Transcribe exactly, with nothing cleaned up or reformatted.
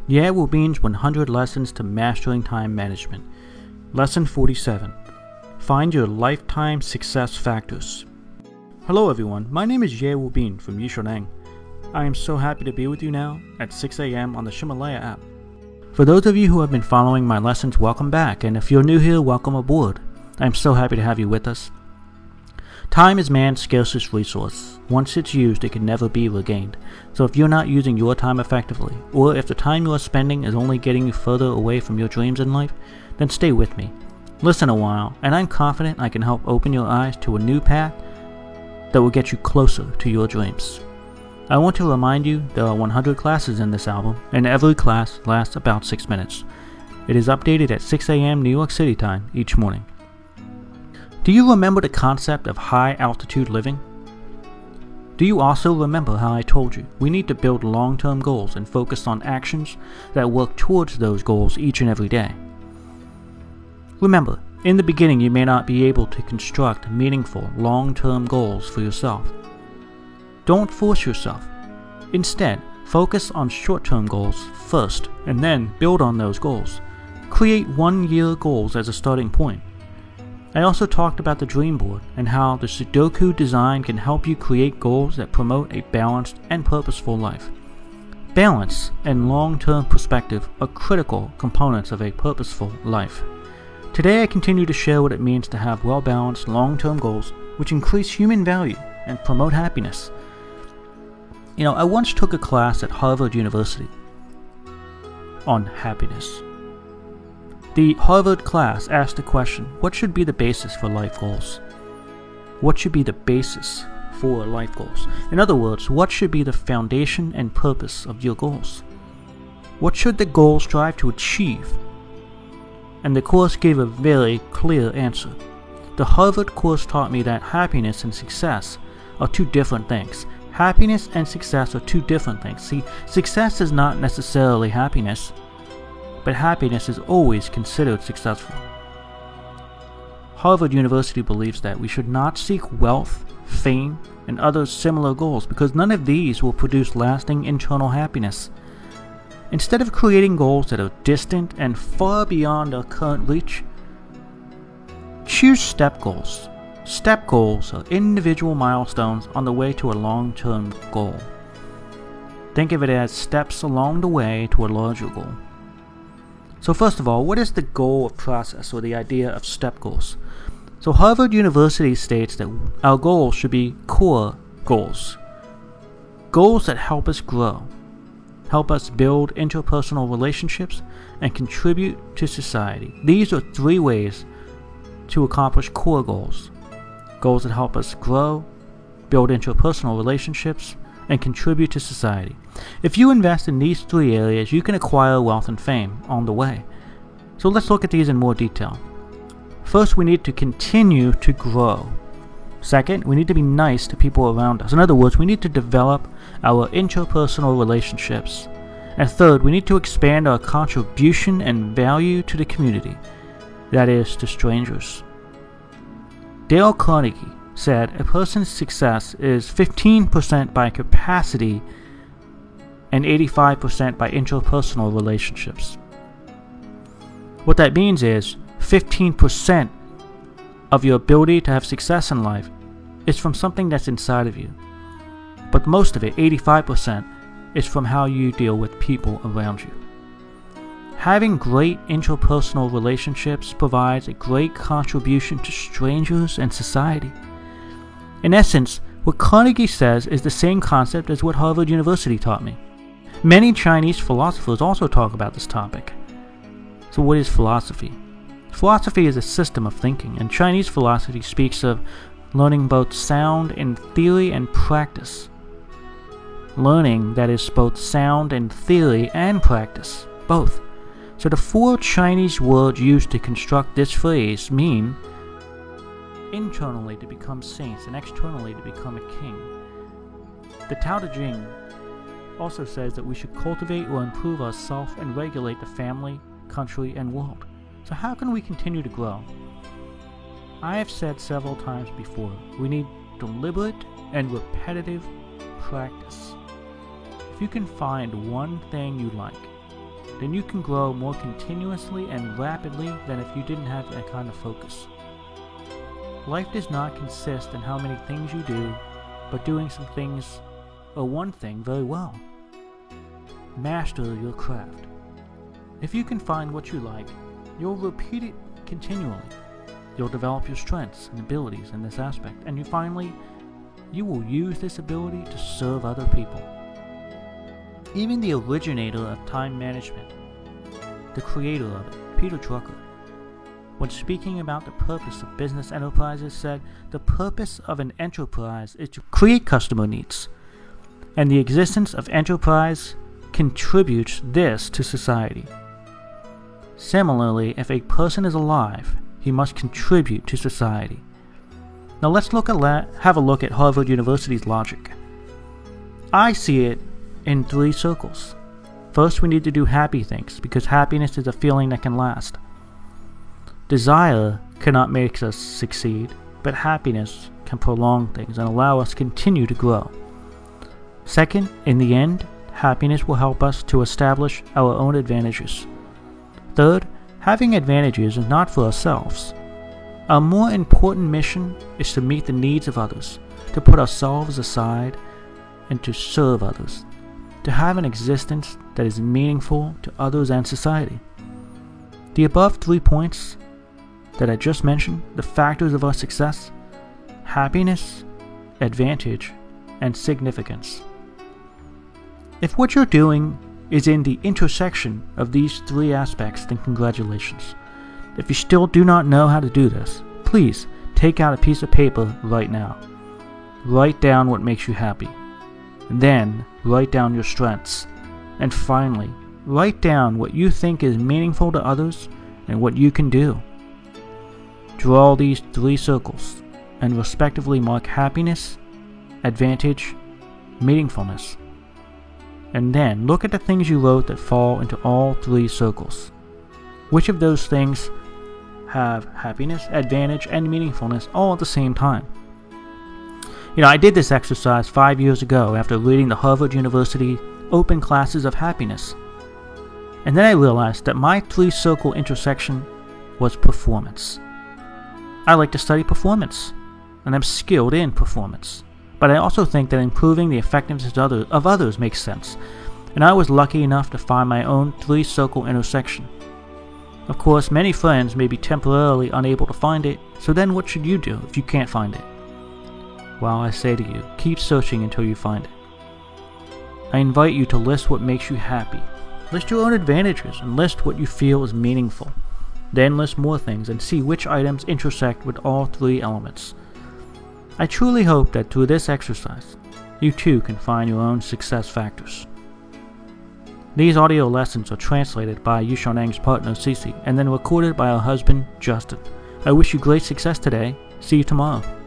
Ye Wu Bin's one hundred Lessons to Mastering Time Management. Lesson forty-seven. Find your lifetime success factors. Hello everyone, my name is Ye Wu Bin from Yishaneng. I am so happy to be with you now at six a.m. on the Himalaya app. For those of you who have been following my lessons, welcome back, and if you're new here, welcome aboard. I am so happy to have you with us. Time is man's scarcest resource. Once it's used, it can never be regained. So if you're not using your time effectively, or if the time you are spending is only getting you further away from your dreams in life, then stay with me. Listen a while, and I'm confident I can help open your eyes to a new path that will get you closer to your dreams. I want to remind you there are one hundred classes in this album, and every class lasts about six minutes. It is updated at six a.m. New York City time each morning. Do you remember the concept of high altitude living? Do you also remember how I told you we need to build long-term goals and focus on actions that work towards those goals each and every day? Remember, in the beginning you may not be able to construct meaningful long-term goals for yourself. Don't force yourself. Instead, focus on short-term goals first and then build on those goals. Create one-year goals as a starting point. I also talked about the dream board and how the Sudoku design can help you create goals that promote a balanced and purposeful life. Balance and long-term perspective are critical components of a purposeful life. Today I continue to share what it means to have well-balanced long-term goals which increase human value and promote happiness. You know, I once took a class at Harvard University on happiness. The Harvard class asked the question, what should be the basis for life goals? What should be the basis for life goals? In other words, what should be the foundation and purpose of your goals? What should the goal strive to achieve? And the course gave a very clear answer. The Harvard course taught me that happiness and success are two different things. Happiness and success are two different things. See, success is not necessarily happiness, but happiness is always considered successful. Harvard University believes that we should not seek wealth, fame, and other similar goals because none of these will produce lasting internal happiness. Instead of creating goals that are distant and far beyond our current reach, choose step goals. Step goals are individual milestones on the way to a long-term goal. Think of it as steps along the way to a larger goal. So first of all, what is the goal of process or the idea of step goals? So Harvard University states that our goals should be core goals. Goals that help us grow, help us build interpersonal relationships, and contribute to society. These are three ways to accomplish core goals. Goals that help us grow, build interpersonal relationships, and contribute to society. If you invest in these three areas, you can acquire wealth and fame on the way. So let's look at these in more detail. First, we need to continue to grow. Second, we need to be nice to people around us. In other words, we need to develop our interpersonal relationships. And third, we need to expand our contribution and value to the community, that is, to strangers. Dale Carnegie said a person's success is fifteen percent by capacity and eighty-five percent by interpersonal relationships. What that means is fifteen percent of your ability to have success in life is from something that's inside of you. But most of it, eighty-five percent, is from how you deal with people around you. Having great interpersonal relationships provides a great contribution to strangers and society. In essence, what Carnegie says is the same concept as what Harvard University taught me. Many Chinese philosophers also talk about this topic. So what is philosophy? Philosophy is a system of thinking, and Chinese philosophy speaks of learning both sound in theory and practice. Learning that is both sound in theory and practice, both. So the four Chinese words used to construct this phrase mean internally to become saints and externally to become a king. The Tao Te Ching also says that we should cultivate or improve ourselves and regulate the family, country, and world. So how can we continue to grow? I have said several times before, we need deliberate and repetitive practice. If you can find one thing you like, then you can grow more continuously and rapidly than if you didn't have that kind of focus. Life does not consist in how many things you do, but doing some things, or one thing, very well. Master your craft. If you can find what you like, you'll repeat it continually. You'll develop your strengths and abilities in this aspect, and you finally, you will use this ability to serve other people. Even the originator of time management, the creator of it, Peter Drucker, when speaking about the purpose of business enterprises, said the purpose of an enterprise is to create customer needs, and the existence of enterprise contributes this to society. Similarly, if a person is alive, he must contribute to society. Now let's look at la- have a look at Harvard University's logic. I see it in three circles. First, we need to do happy things, because happiness is a feeling that can last. Desire cannot make us succeed, but happiness can prolong things and allow us to continue to grow. Second, in the end, happiness will help us to establish our own advantages. Third, having advantages is not for ourselves. Our more important mission is to meet the needs of others, to put ourselves aside, and to serve others, to have an existence that is meaningful to others and society. The above three points that I just mentioned, the factors of our success: happiness, advantage, and significance. If what you're doing is in the intersection of these three aspects, then congratulations. If you still do not know how to do this, please take out a piece of paper right now. Write down what makes you happy. Then write down your strengths. And finally, write down what you think is meaningful to others and what you can do. Draw these three circles and respectively mark happiness, advantage, meaningfulness. And then look at the things you wrote that fall into all three circles. Which of those things have happiness, advantage, and meaningfulness all at the same time? You know, I did this exercise five years ago after reading the Harvard University Open Classes of Happiness. And then I realized that my three-circle intersection was performance. I like to study performance, and I'm skilled in performance. But I also think that improving the effectiveness of others makes sense, and I was lucky enough to find my own three-circle intersection. Of course, many friends may be temporarily unable to find it, so then what should you do if you can't find it? Well, I say to you, keep searching until you find it. I invite you to list what makes you happy. List your own advantages and list what you feel is meaningful. Then list more things and see which items intersect with all three elements. I truly hope that through this exercise, you too can find your own success factors. These audio lessons are translated by Yushonang's partner Cece and then recorded by her husband Justin. I wish you great success today. See you tomorrow.